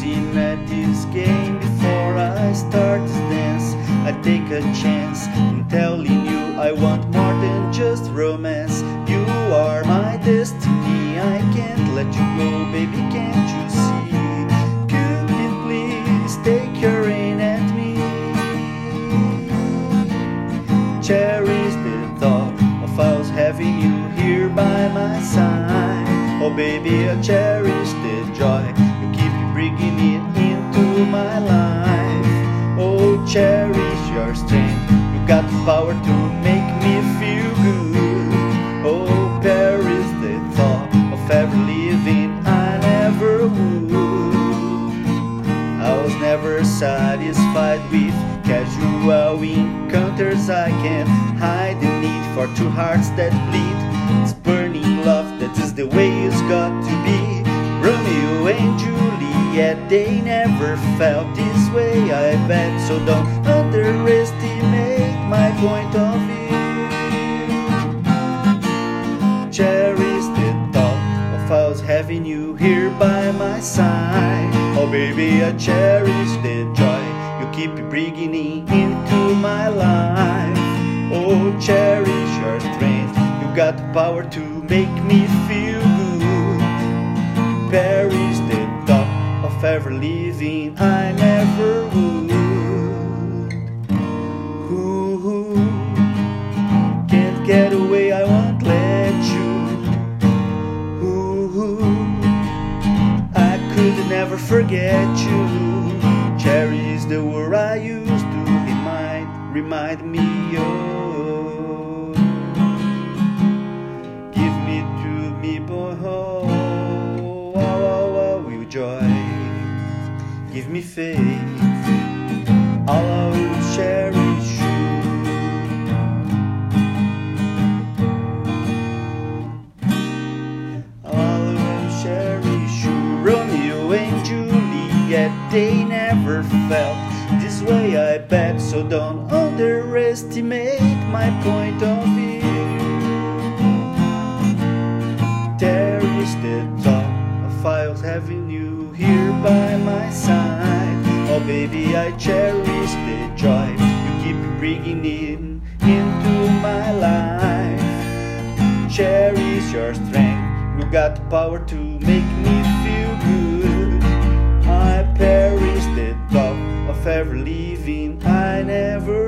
losing at this game. Before I start this dance, I take a chance in telling you I want more than just romance. You are my destiny, I can't let you go, baby, can't you see? Cupid, please take your aim at me. Cherish the thought of us having you here by my side. Oh baby, I cherish the joy you keep bringing it into my life. Oh, cherish your strength, you got the power to make me feel good. Oh, perish the thought of ever leaving, I never would. I was never satisfied with casual encounters. I can't hide the need for two hearts that bleed. It's burning love, that is the way it's got to be. Romeo and Juliet, they never felt this way, I bet. So don't underestimate my point of view. Cherish the thought of us having you here by my side. Oh baby, I cherish the joy you keep bringing into my life. Oh, cherish your strength, you got the power to make me feel good. Perish the thought of ever leaving, I never would. Ooh, can't get away, I won't let you. Ooh, I could never forget you. Cherish the word I used to remind me of. Give me to me, boy, will joy. Give me faith, I will cherish you. I will cherish you. Romeo and Juliet, they never felt this way, I bet. So don't underestimate my point of view. Cherish the thought of us having you here by my side. Oh baby, I cherish the joy you keep bringing in into my life. Cherish your strength, you got the power to make me feel good. I perish the thought of ever leaving, I never